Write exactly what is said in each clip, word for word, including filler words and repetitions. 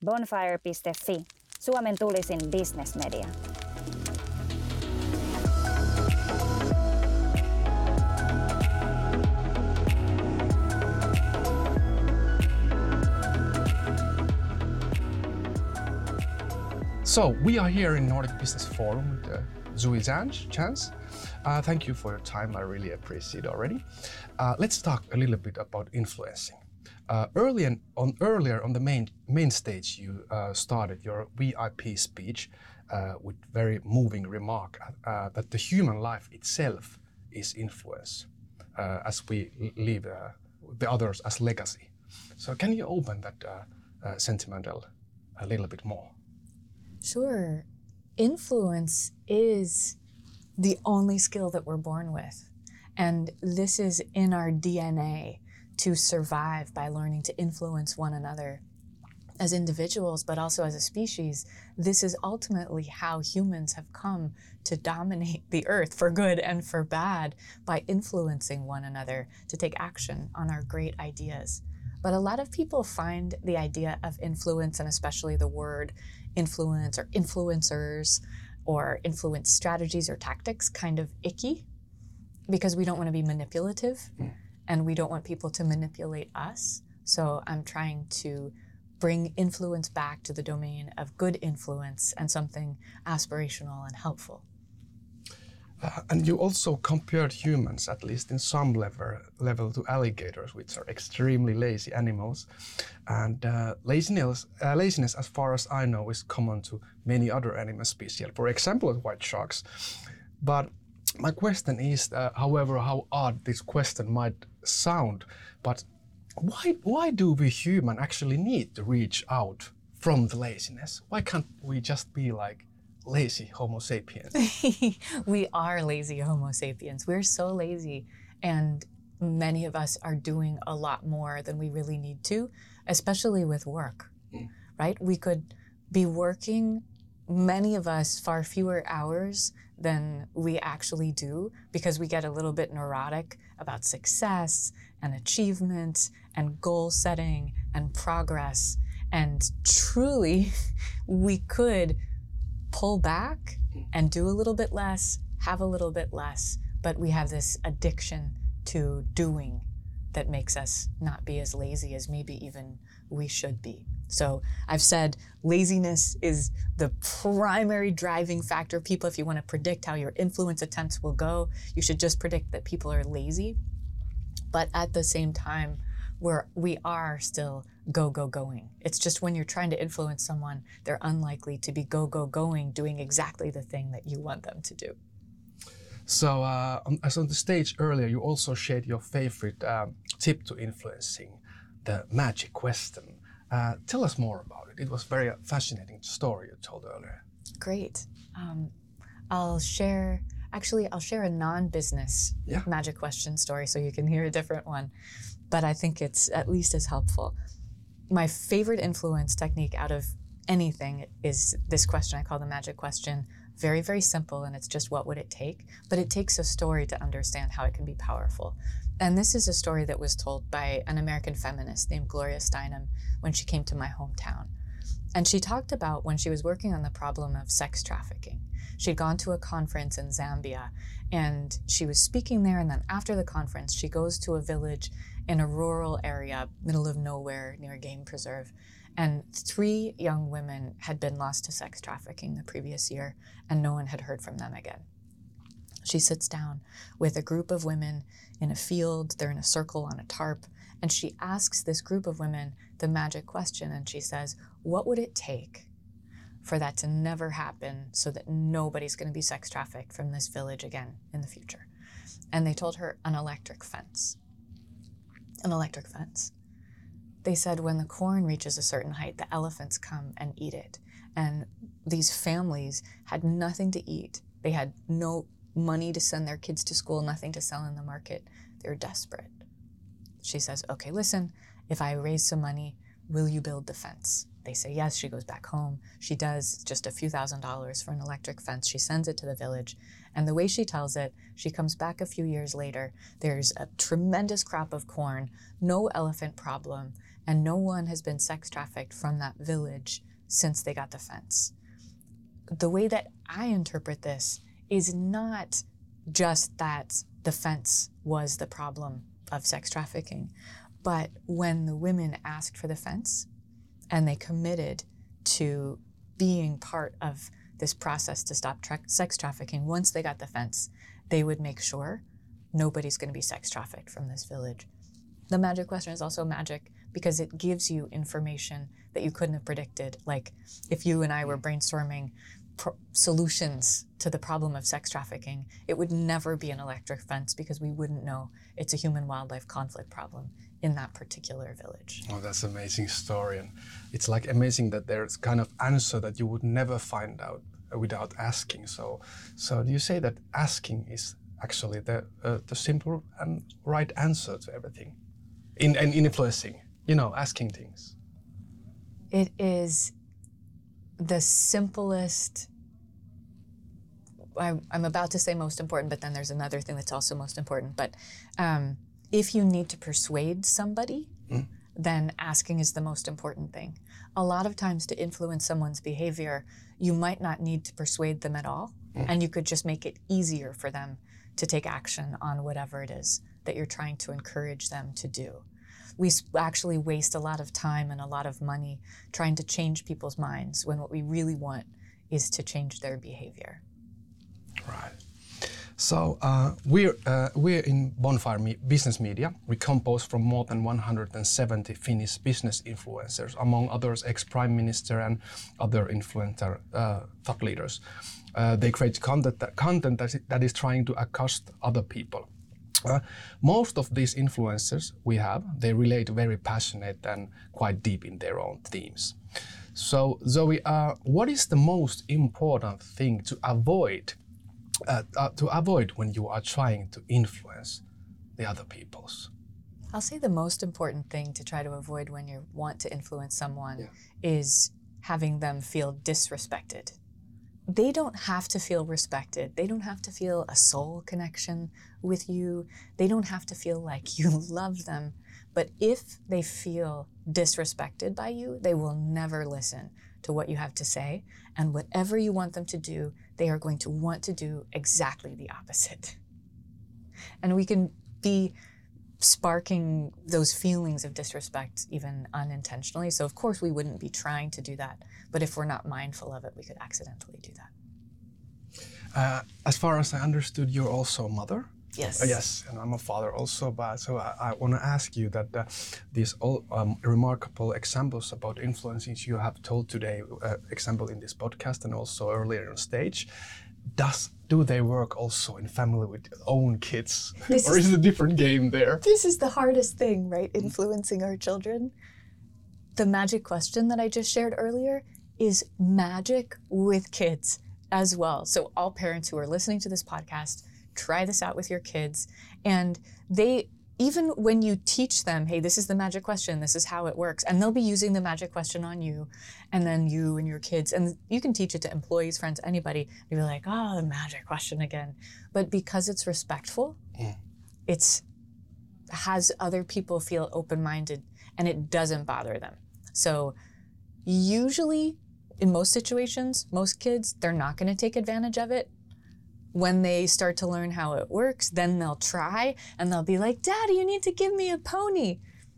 Bonfire piste fi, Suomen tulisin businessmedia. So we are here in Nordic Business Forum with uh, Zui Zhang, Chance. Uh, thank you for your time. I really appreciate it already. Uh, let's talk a little bit about influencing. Uh, early and on, earlier on the main main stage, you uh, started your V I P speech uh, with very moving remark uh, that the human life itself is influence, uh, as we leave uh, the others as legacy. So can you open that uh, uh, sentimental a little bit more? Sure. Influence is the only skill that we're born with. And this is in our D N A to survive by learning to influence one another as individuals, but also as a species. This is ultimately how humans have come to dominate the earth for good and for bad, by influencing one another to take action on our great ideas. But a lot of people find the idea of influence, and especially the word influence or influencers or influence strategies or tactics, kind of icky, because we don't want to be manipulative mm. and we don't want people to manipulate us. So I'm trying to bring influence back to the domain of good influence and something aspirational and helpful. Uh, and you also compared humans, at least in some level, level to alligators, which are extremely lazy animals. And uh, laziness, uh, laziness, as far as I know, is common to many other animal species, for example, white sharks. But my question is, uh, however, how odd this question might sound, but why, why do we humans actually need to reach out from the laziness? Why can't we just be like lazy Homo sapiens? We are lazy Homo sapiens. We're so lazy, and many of us are doing a lot more than we really need to, especially with work, mm. right? We could be working, many of us, far fewer hours than we actually do, because we get a little bit neurotic about success and achievement and goal setting and progress. And truly, we could pull back and do a little bit less, have a little bit less, but we have this addiction to doing that makes us not be as lazy as maybe even we should be. So I've said laziness is the primary driving factor. People, if you want to predict how your influence attempts will go, you should just predict that people are lazy. But at the same time, we're, we are still go, go, going. It's just when you're trying to influence someone, they're unlikely to be go, go, going, doing exactly the thing that you want them to do. So uh, as on the stage earlier, you also shared your favorite um, tip to influencing, the magic question. Uh, tell us more about it. It was a very fascinating story you told earlier. Great. Um, I'll share, actually, I'll share a non-business yeah. magic question story so you can hear a different one, but I think it's at least as helpful. My favorite influence technique out of anything is this question I call the magic question. Very, very simple, and it's just what would it take? But it takes a story to understand how it can be powerful. And this is a story that was told by an American feminist named Gloria Steinem when she came to my hometown. And she talked about when she was working on the problem of sex trafficking. She'd gone to a conference in Zambia, and she was speaking there, and then after the conference, she goes to a village in a rural area, middle of nowhere, near a game preserve. And three young women had been lost to sex trafficking the previous year, and no one had heard from them again. She sits down with a group of women in a field. They're in a circle on a tarp, and she asks this group of women the magic question, and she says, what would it take for that to never happen so that nobody's going to be sex trafficked from this village again in the future? And they told her an electric fence. An electric fence. They said when the corn reaches a certain height, the elephants come and eat it. And these families had nothing to eat. They had no money to send their kids to school, nothing to sell in the market. They were desperate. She says, okay, listen, if I raise some money, will you build the fence? They say yes. She goes back home. She does just a few thousand dollars for an electric fence. She sends it to the village. And the way she tells it, she comes back a few years later. There's a tremendous crop of corn, no elephant problem, and no one has been sex trafficked from that village since they got the fence. The way that I interpret this is not just that the fence was the problem of sex trafficking, but when the women asked for the fence and they committed to being part of this process to stop tra- sex trafficking, once they got the fence, they would make sure nobody's going to be sex trafficked from this village. The magic question is also magic because it gives you information that you couldn't have predicted. Like if you and I were brainstorming pro- solutions to the problem of sex trafficking, it would never be an electric fence because we wouldn't know it's a human-wildlife conflict problem in that particular village. Oh, that's an amazing story. And it's like amazing that there's kind of answer that you would never find out without asking. So, so do you say that asking is actually the uh, the simple and right answer to everything, in and in influencing, you know, asking things? It is the simplest. I, I'm about to say most important, but then there's another thing that's also most important. But um, if you need to persuade somebody, mm. then asking is the most important thing. A lot of times to influence someone's behavior, you might not need to persuade them at all, mm. and you could just make it easier for them to take action on whatever it is that you're trying to encourage them to do. We actually waste a lot of time and a lot of money trying to change people's minds when what we really want is to change their behavior. Right. So uh, we're uh, we're in Bonfire Me- Business Media. We compose from more than one hundred seventy Finnish business influencers, among others ex-prime minister and other influencer uh, thought leaders. Uh, they create content that, content that is, that is trying to accost other people. Uh, most of these influencers we have, they relate very passionate and quite deep in their own themes. So Zoe, uh, what is the most important thing to avoid uh, uh, to avoid when you are trying to influence the other peoples? I'll say the most important thing to try to avoid when you want to influence someone yeah. is having them feel disrespected. They don't have to feel respected. They don't have to feel a soul connection with you. They don't have to feel like you love them. But if they feel disrespected by you, they will never listen to what you have to say. And whatever you want them to do, they are going to want to do exactly the opposite. And we can be sparking those feelings of disrespect even unintentionally. So of course we wouldn't be trying to do that, but if we're not mindful of it, we could accidentally do that. Uh, as far as I understood, you're also a mother? Yes. Uh, yes, and I'm a father also, but so I, I want to ask you that uh, these all um, remarkable examples about influencing you have told today, uh, example in this podcast and also earlier on stage, does do they work also in family with your own kids? This or is, is it a different game there? This is the hardest thing, right? Influencing our children. The magic question that I just shared earlier is magic with kids as well. So all parents who are listening to this podcast, try this out with your kids. And they, even when you teach them, hey, this is the magic question, this is how it works, and they'll be using the magic question on you, and then you and your kids, and you can teach it to employees, friends, anybody, you'll be like, oh, the magic question again. But because it's respectful, mm. it's has other people feel open-minded, and it doesn't bother them. So usually, in most situations, most kids, they're not gonna take advantage of it. When they start to learn how it works, then they'll try and they'll be like, Daddy, you need to give me a pony.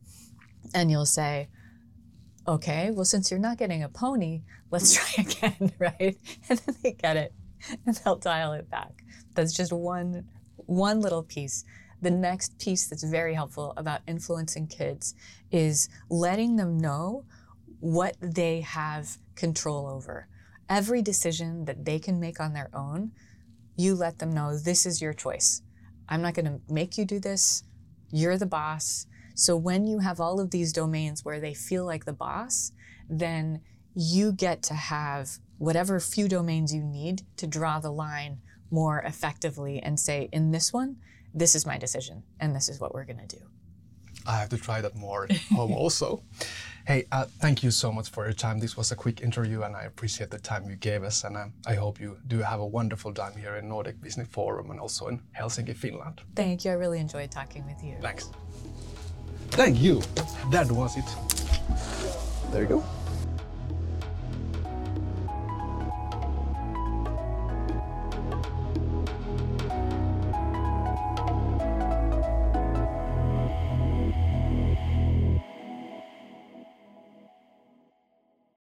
And you'll say, okay, well, since you're not getting a pony, let's try again, right? And then they get it and they'll dial it back. That's just one, one little piece. The next piece that's very helpful about influencing kids is letting them know what they have control over. Every decision that they can make on their own, you let them know this is your choice. I'm not going to make you do this. You're the boss. So when you have all of these domains where they feel like the boss, then you get to have whatever few domains you need to draw the line more effectively and say, in this one, this is my decision and this is what we're going to do. I have to try that more at home also. Hey, uh, thank you so much for your time. This was a quick interview and I appreciate the time you gave us, and um, I hope you do have a wonderful time here in Nordic Business Forum and also in Helsinki, Finland. Thank you. I really enjoyed talking with you. Thanks. Thank you. That was it. There you go.